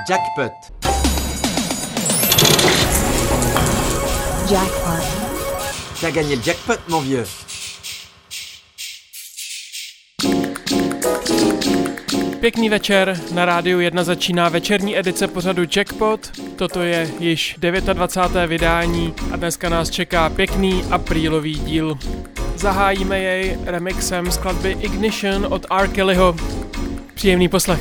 Jackpot. Jackpot. T'as gagné le jackpot, mon vieux. Pěkný večer, na Rádiu 1 začíná večerní edice pořadu Jackpot. Toto je již 29. vydání a dneska nás čeká pěkný aprílový díl. Zahájíme jej remixem skladby Ignition od R. Kellyho. Příjemný poslech.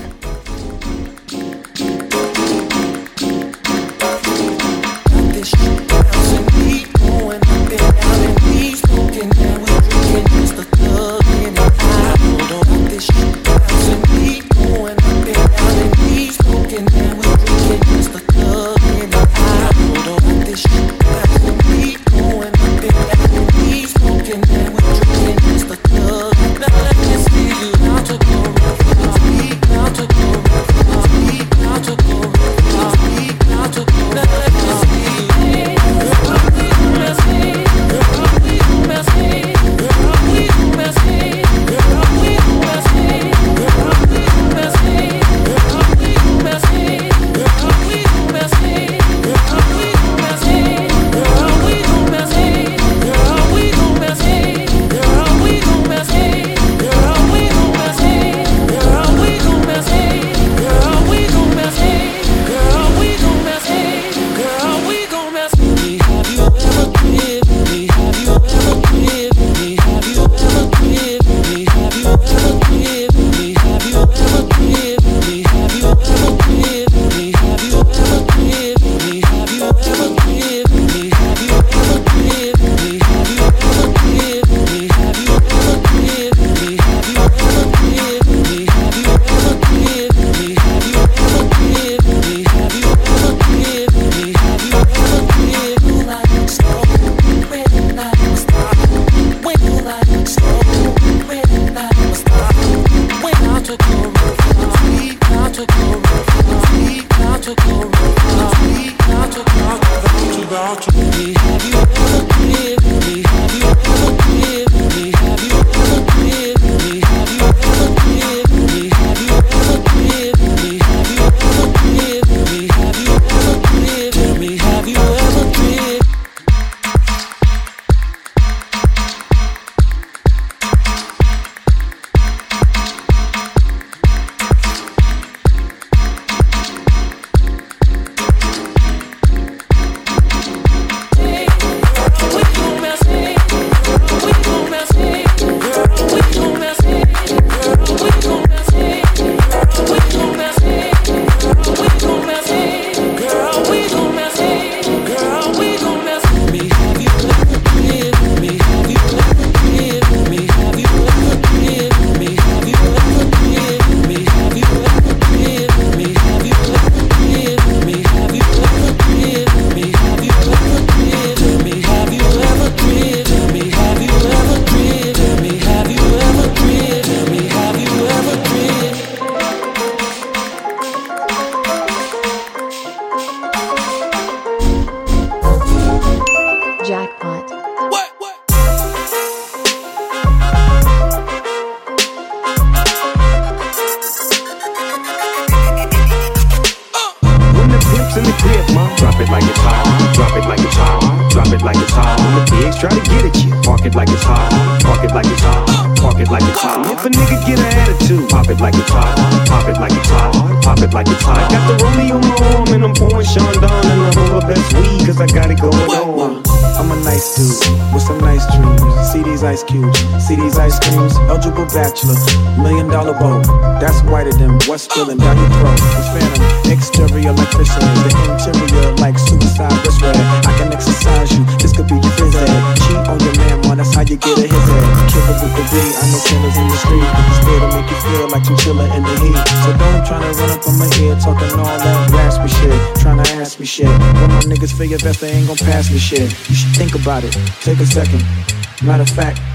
Ice cubes, see these ice creams, eligible bachelor, $1 million bow. That's whiter than what's spilling down your throat. The phantom, exterior like fish eggs, the interior like suicide wrist red. I can exercise you, this could be your phys ed. Cheat on your man, man, that's how you get a his head. Killer with the beat, I know killers in the street. Stay to make you feel like chinchilla in the heat. So don't try to run up on my ear, talking all that raspy shit, trying to ask me shit. When my niggas feel your best, they ain't gon' pass me shit. You should think about it, take a second. Matter of fact,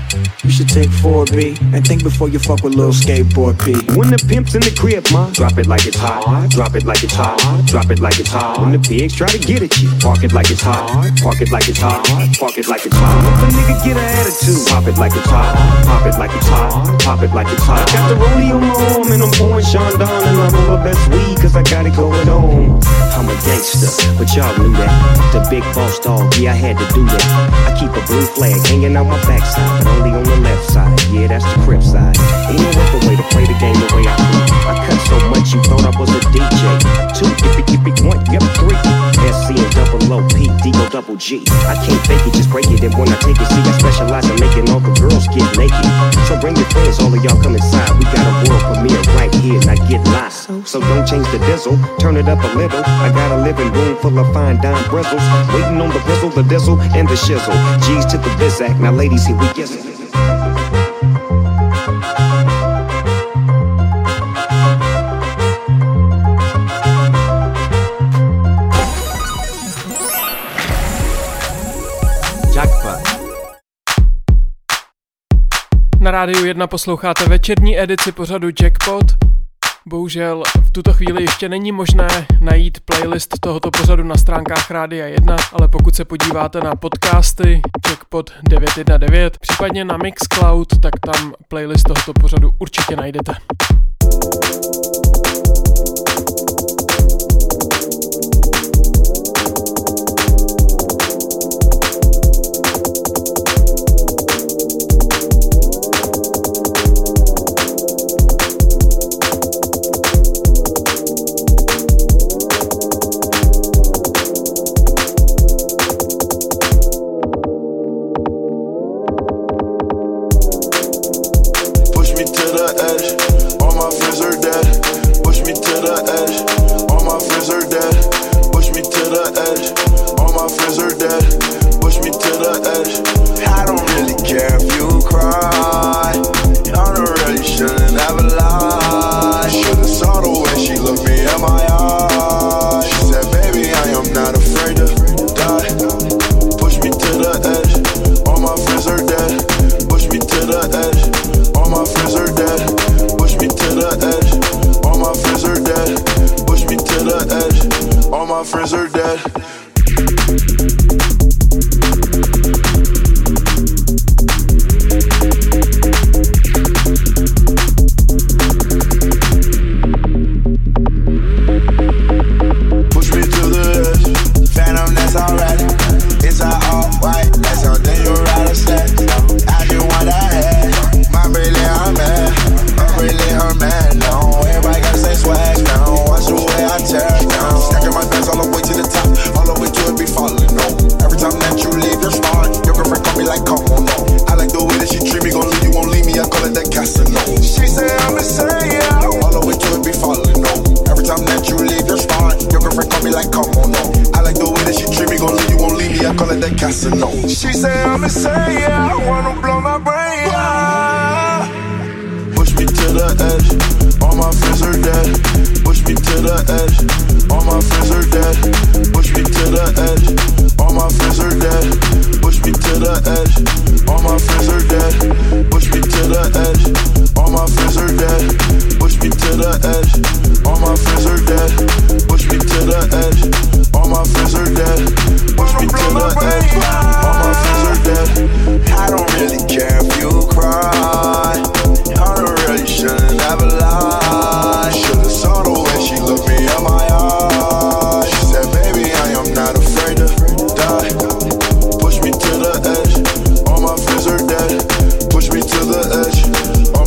You should take 4B and think before you fuck with little skateboard P. When the pimp's in the crib, ma, drop it like it's hot. Drop it like it's hot. Drop it like it's hot. When the pigs try to get at you, park it like it's hot. Park it like it's hot. Park it like it's hot. If a nigga get an attitude, pop it like it's hot. Pop it like it's hot. Pop it like it's hot. Got the rollie on my arm and I'm pouring Sean Don and I'm on my best weed cause I got it going on. I'm a gangster, but y'all knew that. The big boss dog, yeah, I had to do that. I keep a blue flag hanging out my backside, but only on the left side. Yeah, that's the crib side. Ain't no other way to play the game the way I do. I cut so much you thought I was a DJ. 2, yippee, 1, yep, 3. SC and double O, P, D, O, double G. I can't fake it, just break it. And when I take it, see, I specialize in making all the girls get naked. So bring your friends, all of y'all come inside. We got a world premiere right here, now get lost. So don't change the diesel, turn it up a little. I got a living room full of fine dime bristles. Waiting on the pistol, the diesel, and the shizzle. G's to the Bizac, now ladies, here we get it. Na Rádiu 1 posloucháte večerní edici pořadu Jackpot. Bohužel v tuto chvíli ještě není možné najít playlist tohoto pořadu na stránkách Rádia 1, ale pokud se podíváte na podcasty Jackpot 919, případně na Mixcloud, tak tam playlist tohoto pořadu určitě najdete. Push me to the edge.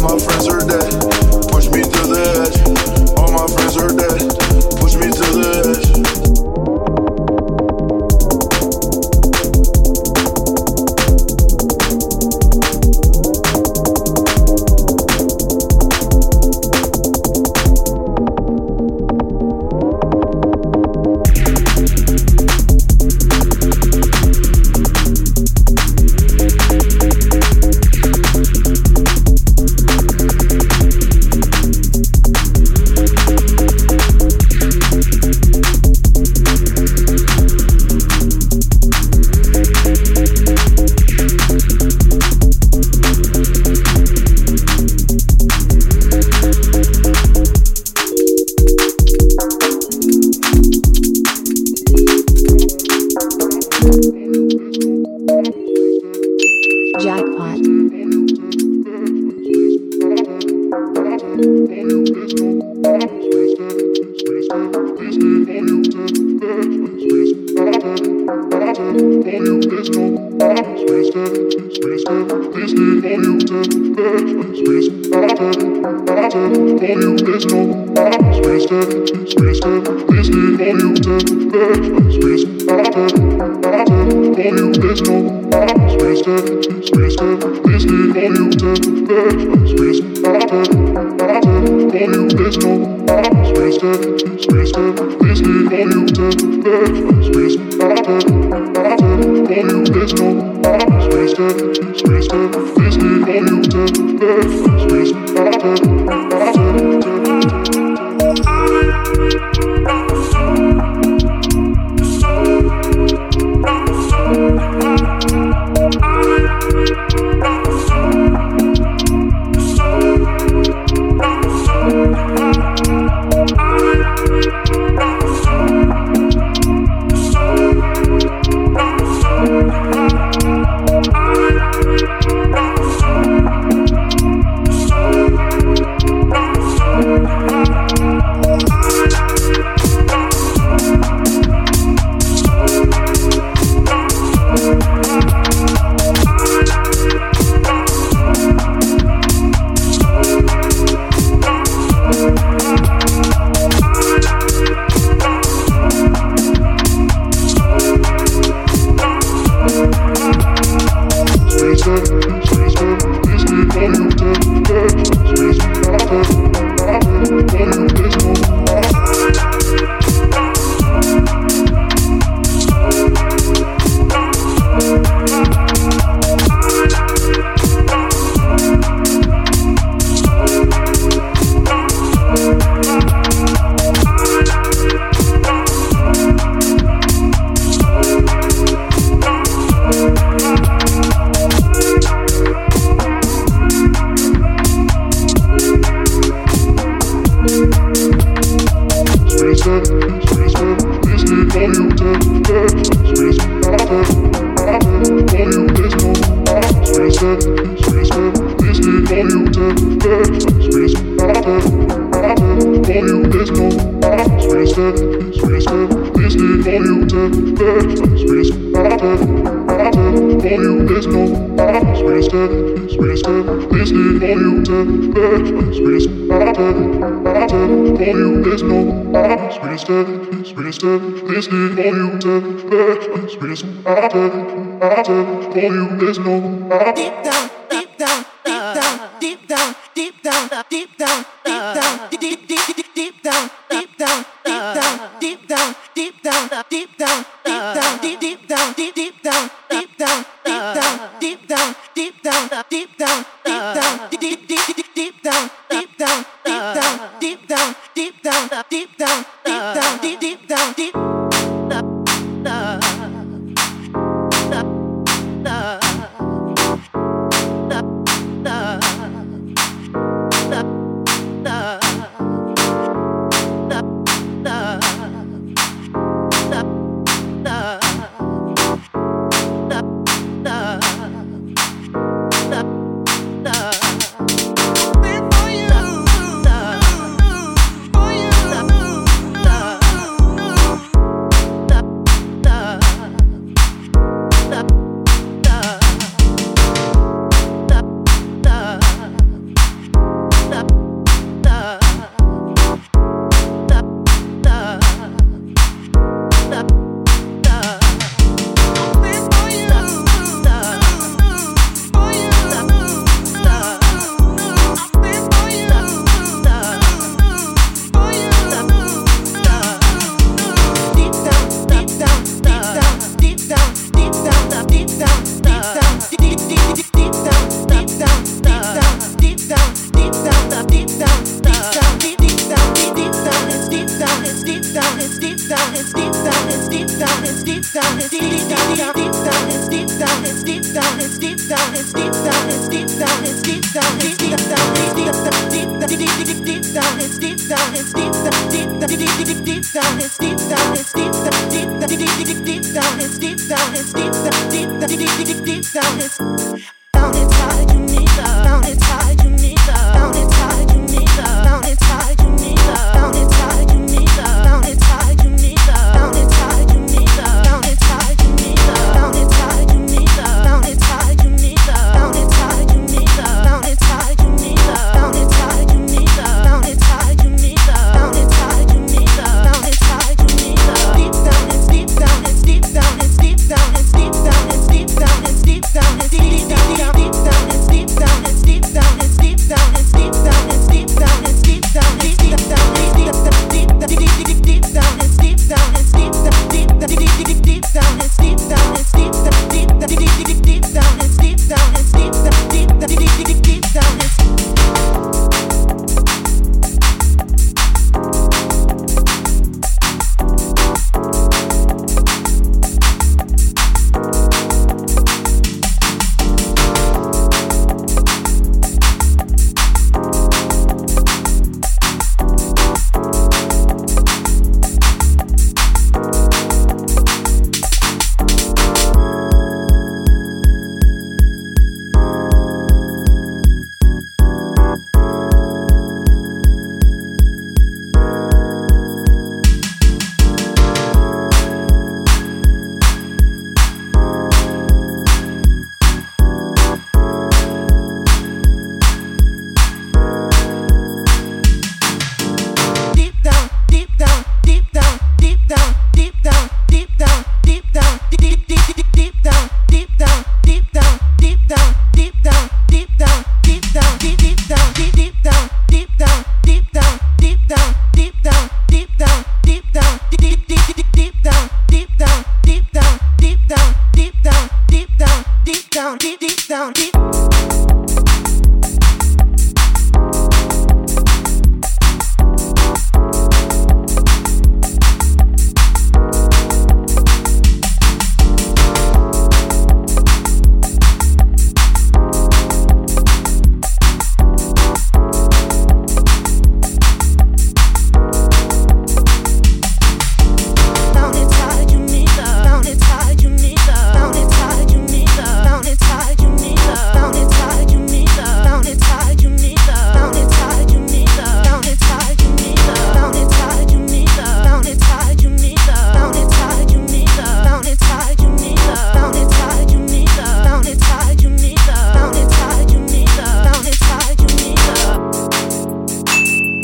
Down inside you need love. Down inside you need love. Down inside you need love.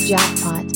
Jackpot.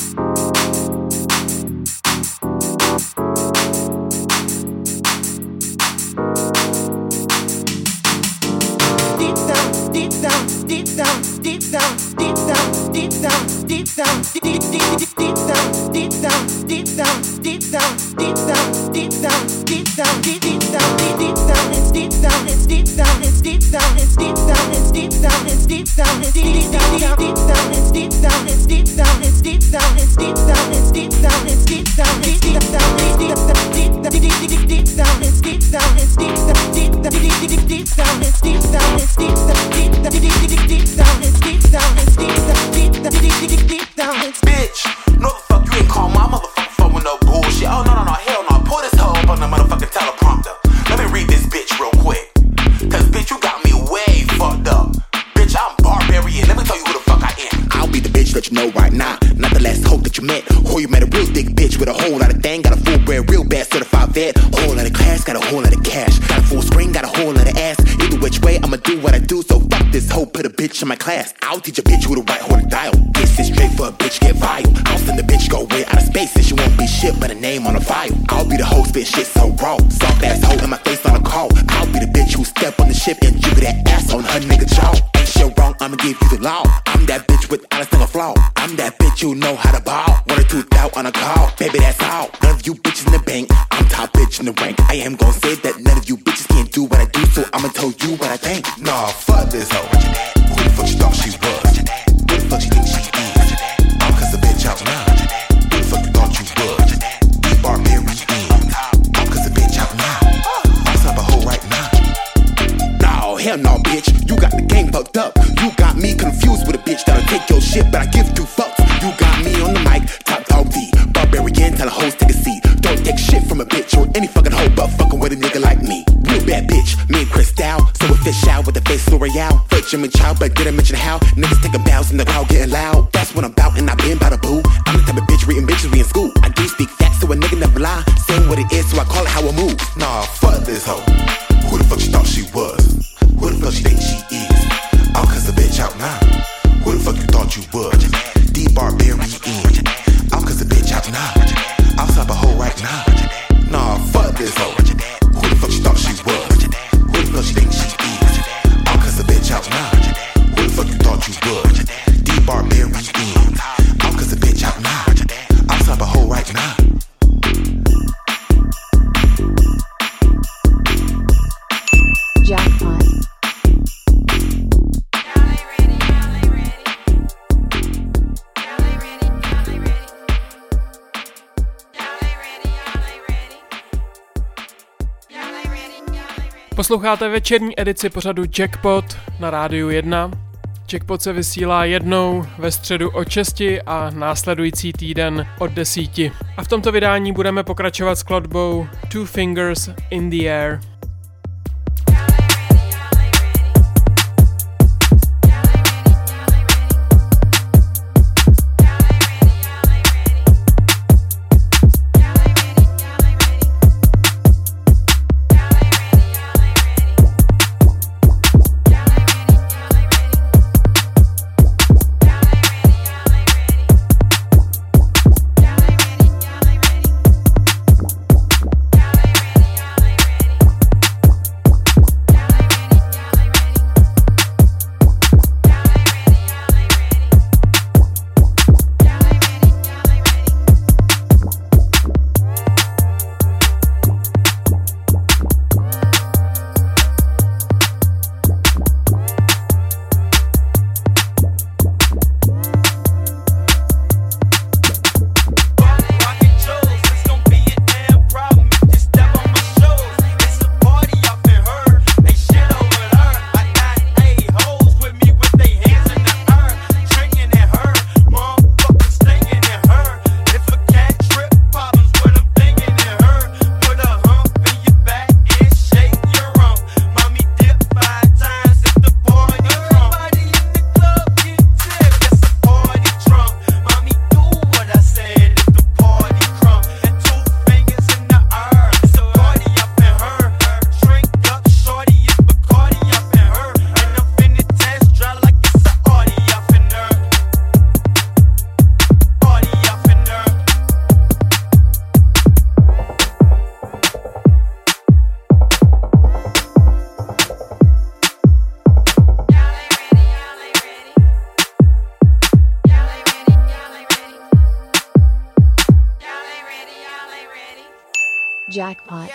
In my class, I'll teach a bitch who to write hold a dial. This is straight for a bitch get vile. I'll send the bitch go way out of space and she won't be shit but a name on a file. I'll be the host, spit shit so raw. Soft ass hoe in my face on a call. I'll be the bitch who step on the ship and jiggle that ass on her nigga jaw. Ain't shit wrong, I'ma give you the law. I'm that bitch without a single flaw. I'm that bitch who know how to ball. 1 or 2 out on a call, baby that's all. None of you bitches in the bank, I'm top bitch in the rank. I am gon' say that none of you bitches can't do what I do, so I'ma tell you what I think. Nah, fuck this hoe. Who the fuck she thought she was? Who the fuck she think she is? I'm cause the bitch out now. Who the fuck you thought you was? You barbarian. I'm cause the bitch out now. I'm slap a hoe right now. No, hell no, bitch. You got the game fucked up. You got me confused with a bitch that'll take your shit, but I give 2 fucks. You got me on the mic, top dog D. Barbarian, tell a host take a seat. Don't take shit from a bitch or any fucking hoe, but fucking with a nigga like me. Real bad bitch, me and Chris Dow. So a fish out with the face L'Oreal. Fuck Jimmy Chow, but didn't mention how niggas taking bows in the crowd getting loud. That's what I'm about, and I been by the boo. I'm the type of bitch reading bitches we in school. I do speak facts, so a nigga never lie. Saying what it is, so I call it how I move. Nah, fuck this hoe. Who the fuck she thought she was? Who the fuck she think she is? I'm cause the bitch out now. Who the fuck you thought you was? D barbarian. I'm cause the bitch out now. I'll slap a hoe right now. Nah, fuck this hoe. Who the fuck she thought she was? Who the fuck she think she is? I'm cause the bitch out now. Who the fuck you thought you was? D barbarian. I'm cause the bitch out now. I'll slap a hoe right now. Jackpot. Posloucháte večerní edici pořadu Jackpot na Rádiu 1. Jackpot se vysílá jednou ve středu od 6 a následující týden od 10. A v tomto vydání budeme pokračovat s skladbou Two Fingers in the Air. Jackpot.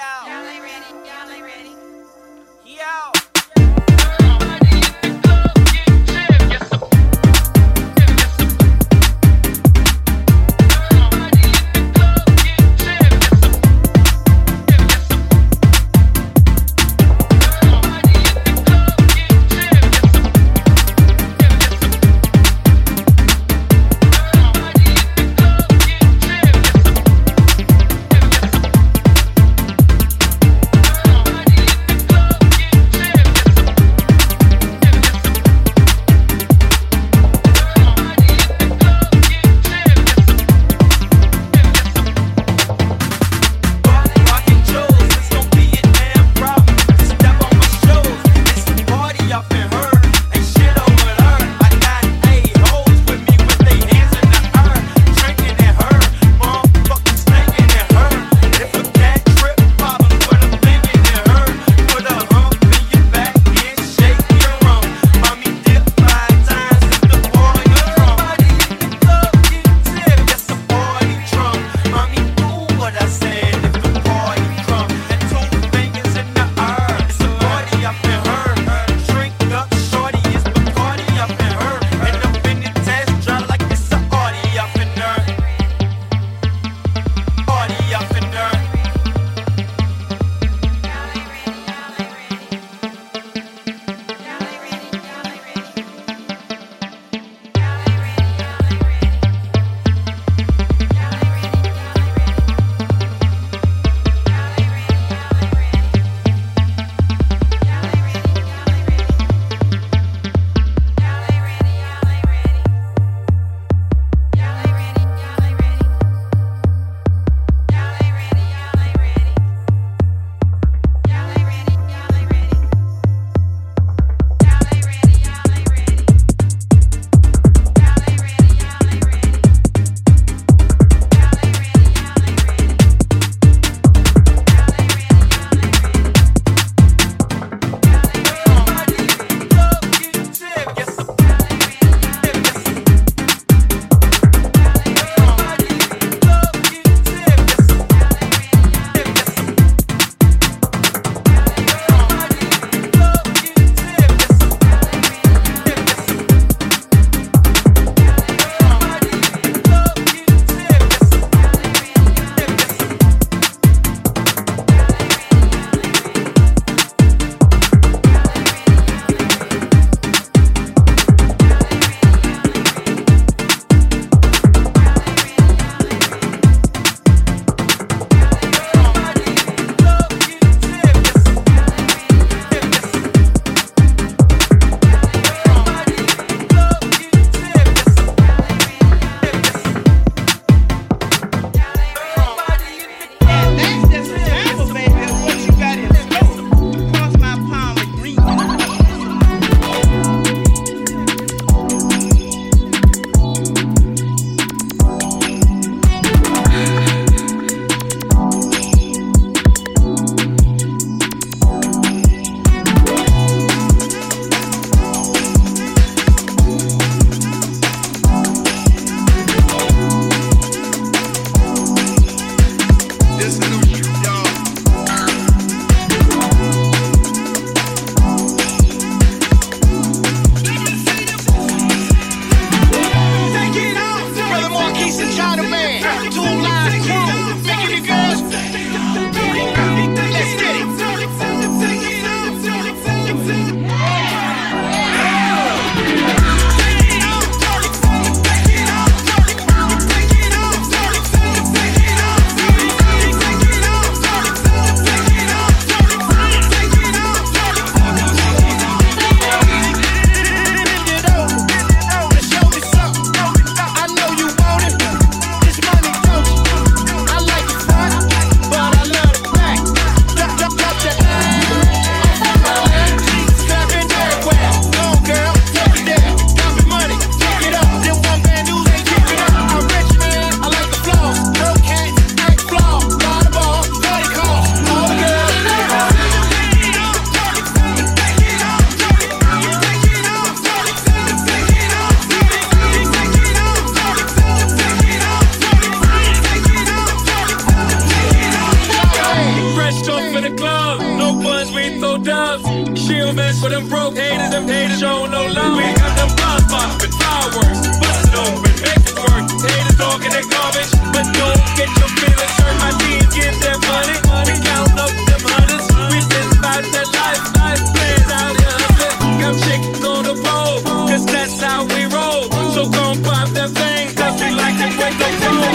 real men for them broke haters, them haters show no love. We got them blood poppin', fireworks, bust it open, make it work. Haters talking that garbage, but don't get your feelings hurt. My teens get that money, we count up them hundreds. We been about that life playing out here hustling. Got chickens on the road, cause that's how we roll. So gon' pop that thing, cause we like to break the road.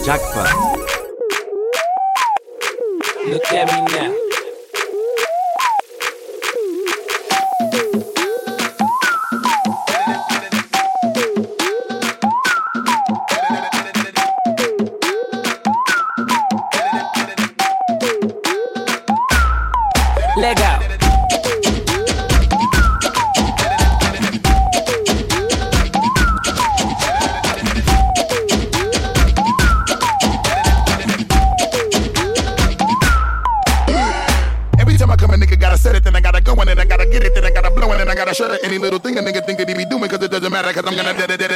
Jackpot. Look at me now. Leg out. Every time I come, a nigga gotta set it, then I gotta go in, and I gotta get it, then I gotta blow it, and I gotta shut it. Any little thing a nigga think that he be doing, cause it doesn't matter, cause I'm gonna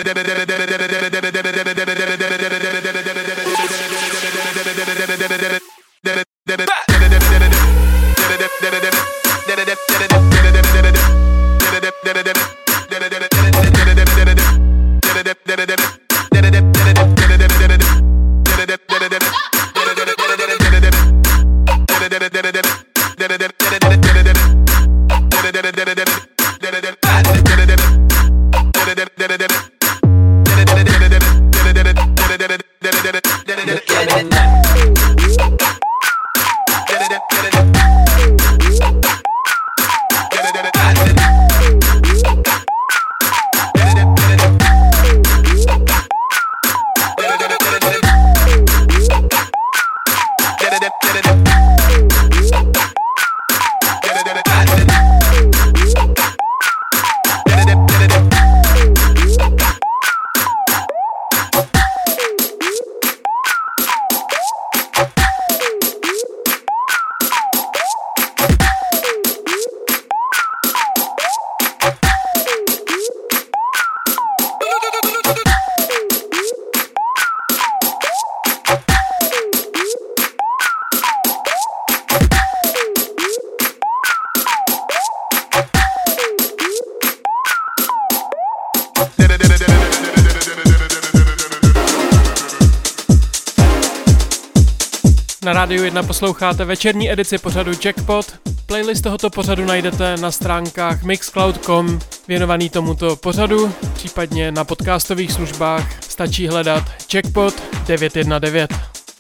Na Rádiu 1 posloucháte večerní edici pořadu Jackpot. Playlist tohoto pořadu najdete na stránkách mixcloud.com věnovaný tomuto pořadu, případně na podcastových službách stačí hledat Jackpot 919.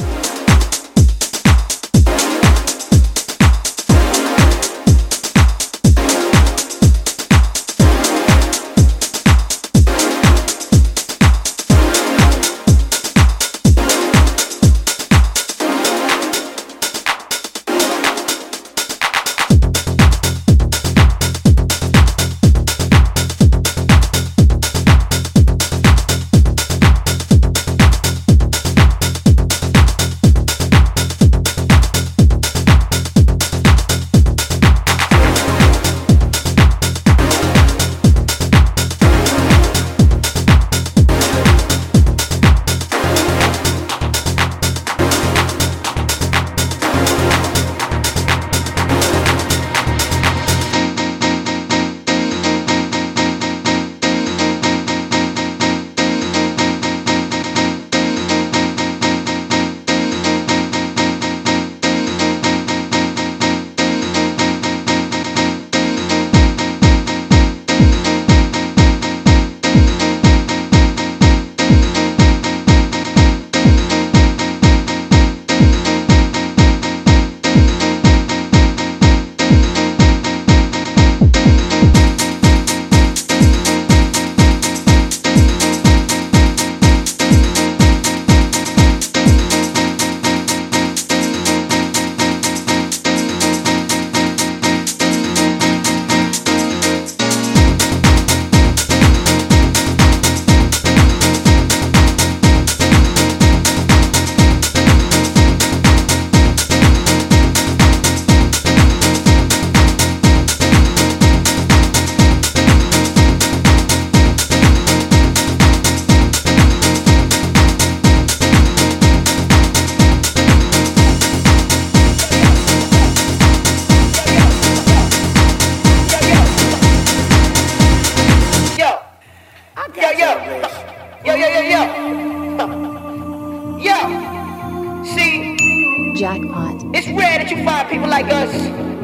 Jackpot. It's rare that you find people like us.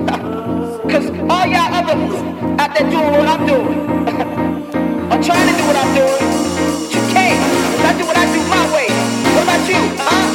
Cause all y'all others out there doing what I'm doing. Or trying to do what I'm doing. But you can't. Cause I do what I do my way. What about you? Huh?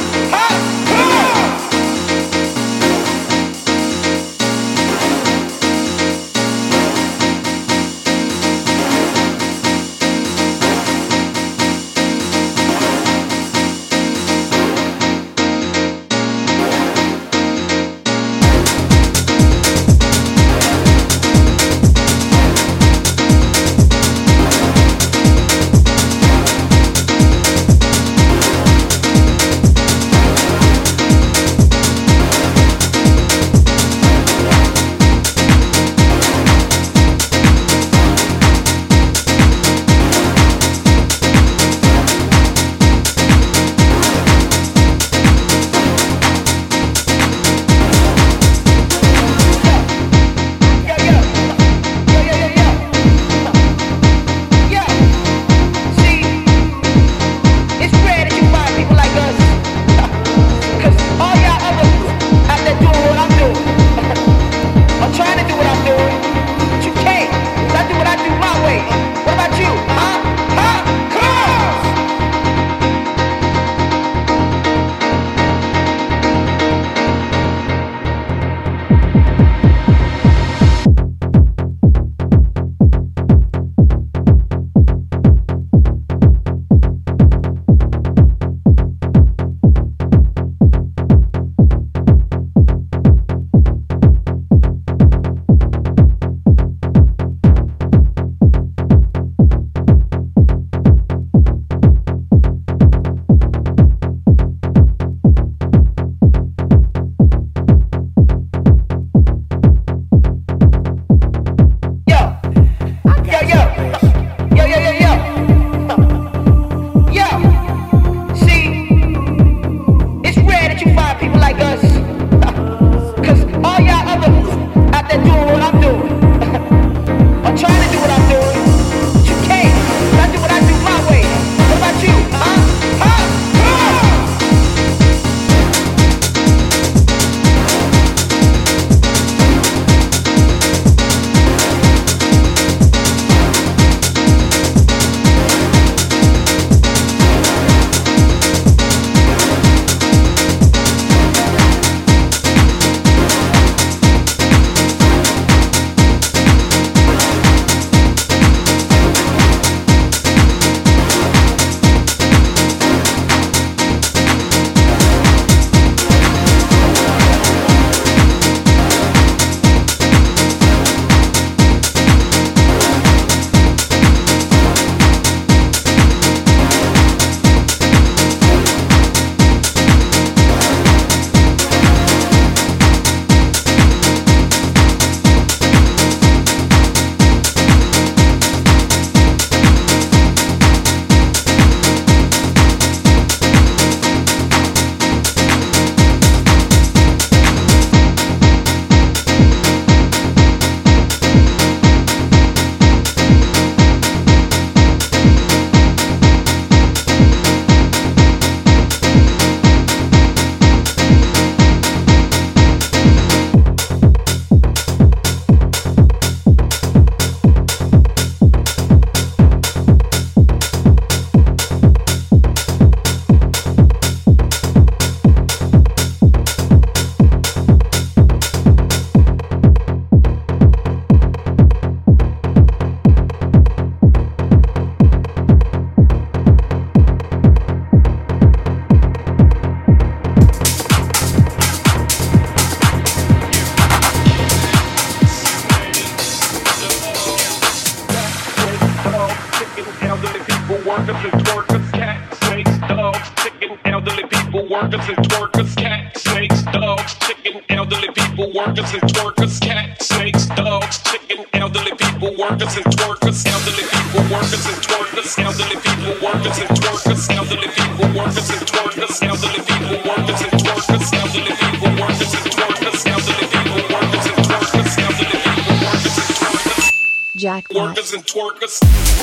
workers and twerkers, cat, snakes, dogs, chicken, elderly people, workers and twerkers, cat, snakes, dogs, chicken, elderly people, workers and twerkers, elderly people, workers and twerkers, elderly people, workers and twerkers, elderly people, workers and twerkers, elderly people, workers and twerkers, elderly people, workers and twerkers, elderly people, workers and twerkers, elderly people, workers and twerkers, Jackpot. workers and twerkers.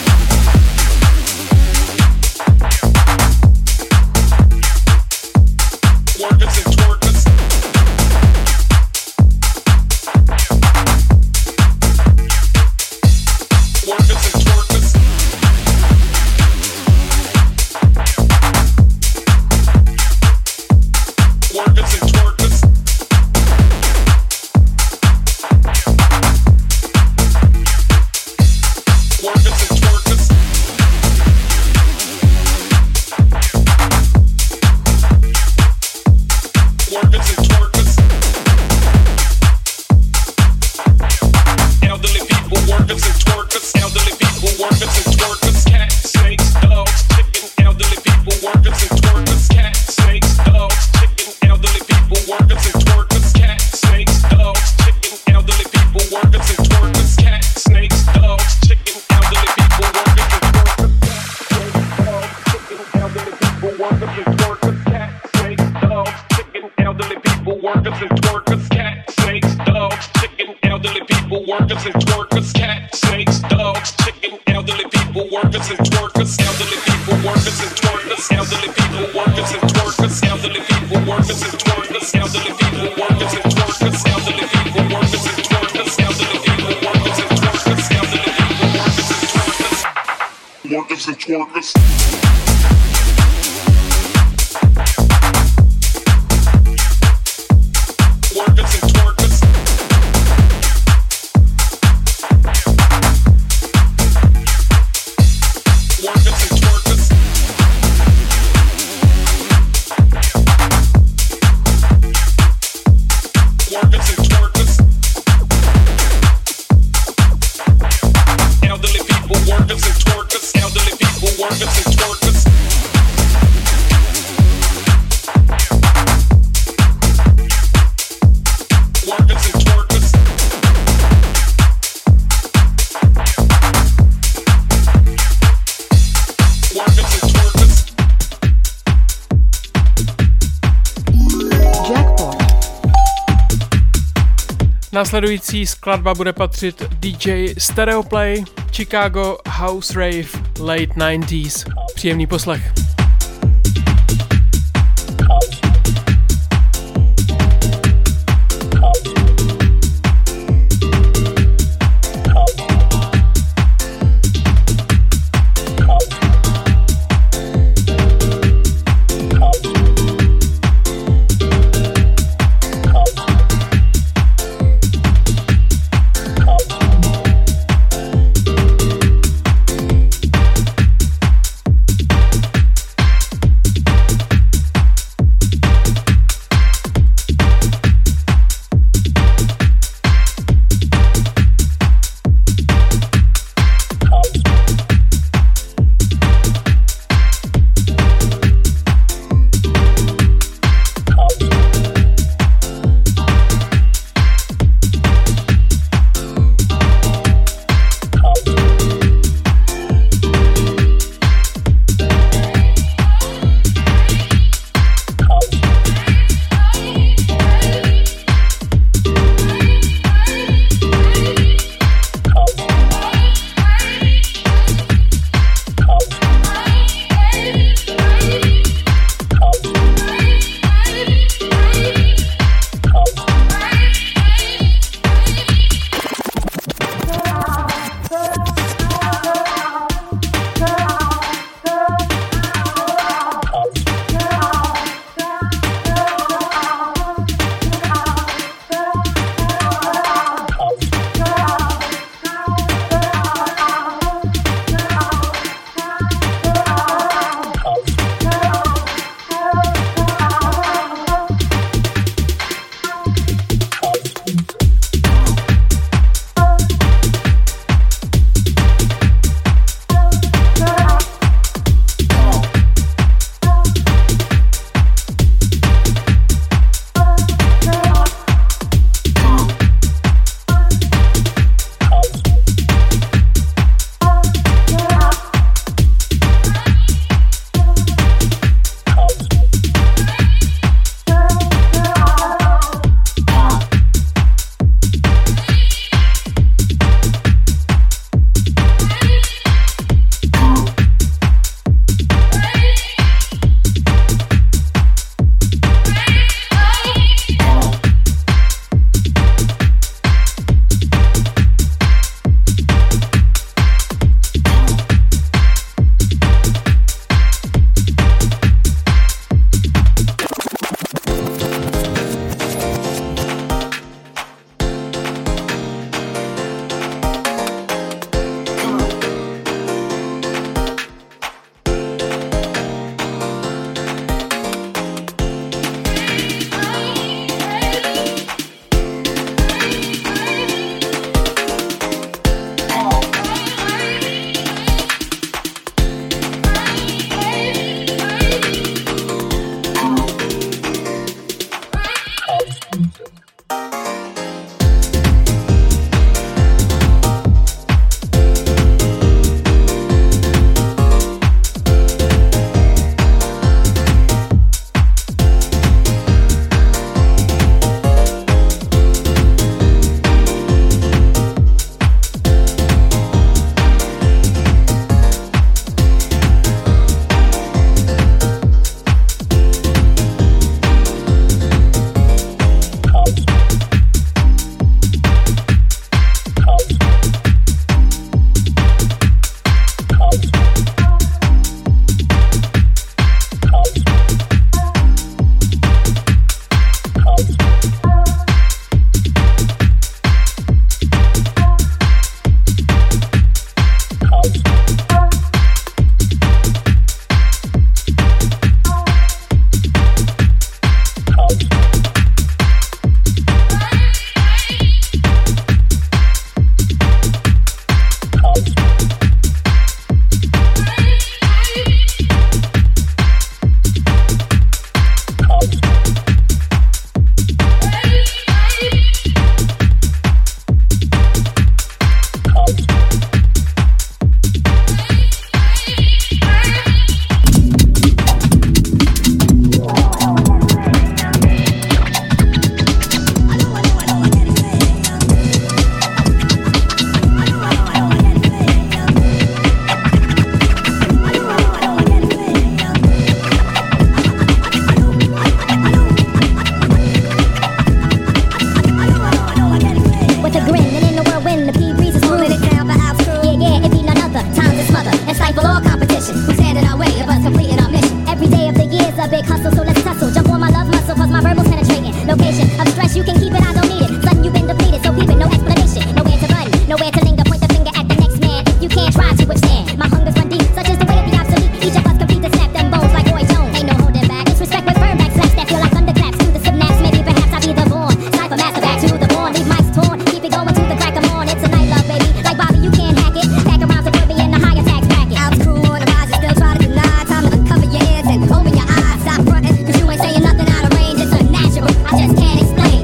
Workers and twerkers. Workers and twerkers. Workers and twerkers. Workers and twerkers. Workers and twerkers. Elderly people, workers and twerkers. Elderly people, workers and twerkers. Cat, snakes, dogs, chicken. Elderly people, workers and twerkers. Cat, snakes, dogs, chicken. Elderly people, workers and twerkers. Cat, snakes, dogs, chicken. Elderly people, workers and twerkers. Cat, snakes, dogs, chicken. Elderly people, workers and twerkers. Elderly people, workers and twerkers. Cat, snakes, dogs, chicken. Elderly people, workers and twerkers. Cat, snakes, dogs, chicken. Elderly people, workers and twerkers. Cat, snakes, dogs, chicken. Elderly people, workers and twerkers. Elderly people, workers and twerkers. Elderly people, workers and twerkers. Elderly people, workers and twerkers. Elderly people, workers and twerkers. Elderly people, workers and twerkers. Elderly people, workers and twerkers. Elderly people, workers and twerkers. Workers and twerkers. Workers and twerkers. Workers and twerkers. Workers and twerkers. Elderly people, workers and twerkers. Elderly people, workers and twerkers. Workers and twerkers. Workers and twerkers. Jackpot. Následující skladba bude patřit DJ Stereoplay, Chicago House Rave Late 90s. Příjemný poslech. Guess you can keep it, I don't need it. Son, you've been depleted, so keep it, no explanation. Nowhere to run, nowhere to linger. Point the finger at the next man if you can't try to withstand. My hunger's run deep, such is the way of the obsolete. Each of us complete to snap them bones like Roy Jones. Ain't no holding back. Disrespect with firm back slaps that feel like thunderclaps through the synapse. Maybe perhaps I'll be the born. Cypher master back to the born. Leave mics torn, keep it going to the crack of morn. It's a night love, baby. Like Bobby, you can't hack it. Back around to be in the higher tax bracket. Out crew on the rise, you still try to deny. Time to uncover your ears and open your eyes. Stop frontin', cause you ain't saying nothing out of range. It's unnatural, I just can't explain.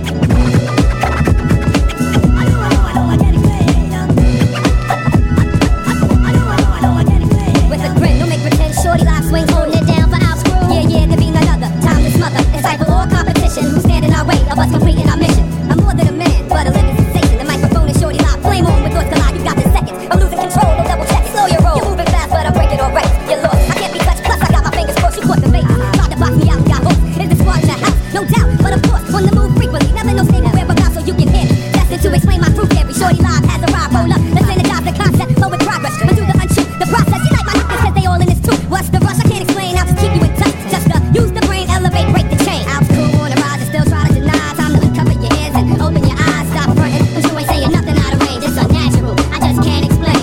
With a grin, don't make pretend. Shorty live swings, holding it down for our screw. Yeah, there be none other. Time to smother. Encipher all competition. Who's standing our way of us completing our mission? I'm more than a man, but a living sensation. The microphone is Shorty live. Flame on with thoughts collide. You got the seconds. I'm losing control. No double check. Slow your roll. You're moving fast, but I'm breaking all records. You're lost. I can't be touched. Plus, I got my fingers crossed. You caught the bait. Tried to box me out and got hooked. Is the squad in the house? No doubt. But of course, on the move frequently. Never no state where about so you can hear me. Destined to explain my fruit theory. Shorty live has arrived. Roll up. Let's energize the concept. Flow with progress. Undo the unshoot. The process. You like my niggas cause they all in this too. What's the rush? I can't explain. I'll just keep you in touch. Just use the brain, elevate, break the chain. Out cool on the rise and still try to deny. Time to uncover your ears and open your eyes. Stop frontin', cause you ain't saying nothing out of range. It's unnatural, I just can't explain.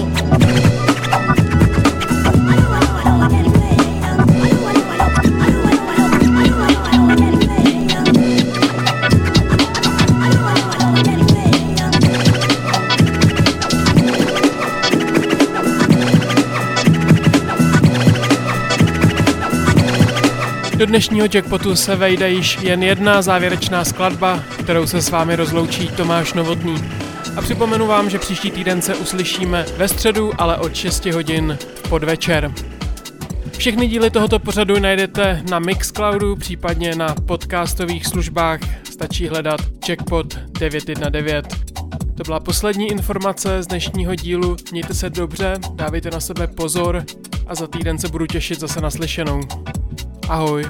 Do dnešního Jackpotu se vejde již jen jedna závěrečná skladba, kterou se s vámi rozloučí Tomáš Novotný. A připomenu vám, že příští týden se uslyšíme ve středu, ale od 6 hodin v podvečer. Všechny díly tohoto pořadu najdete na Mixcloudu, případně na podcastových službách. Stačí hledat Jackpot 919. To byla poslední informace z dnešního dílu. Mějte se dobře, dávejte na sebe pozor a za týden se budu těšit zase na slyšenou. Ahoj.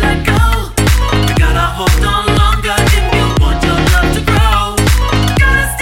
Gotta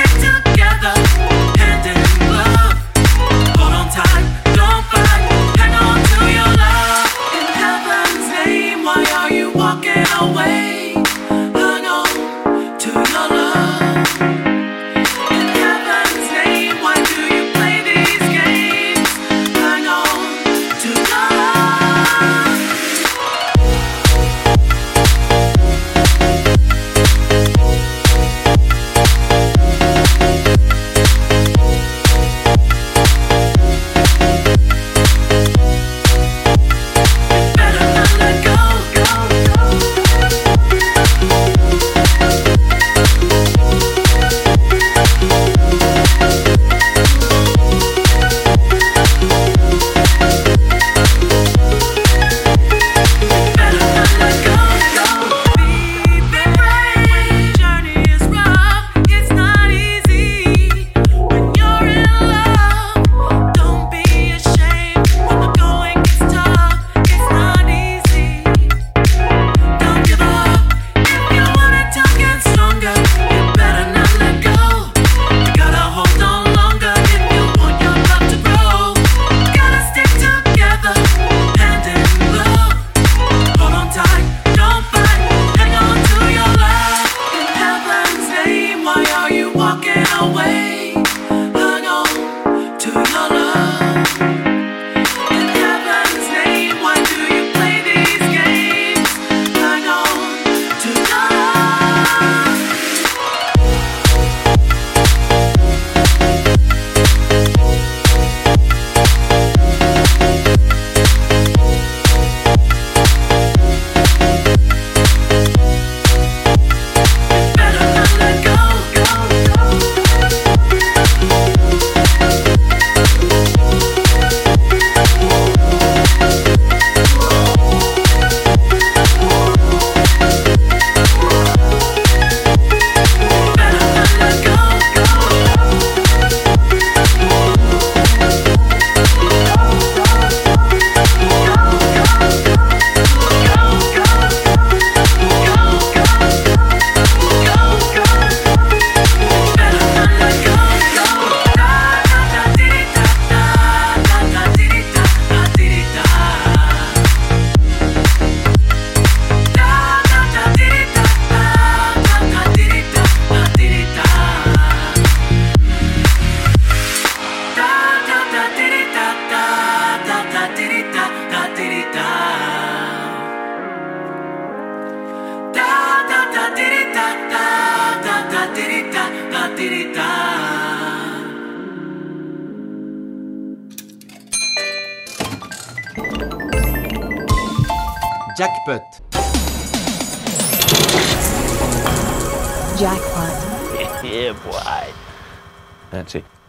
Jackpot. Jackpot. Yeah, boy. That's it.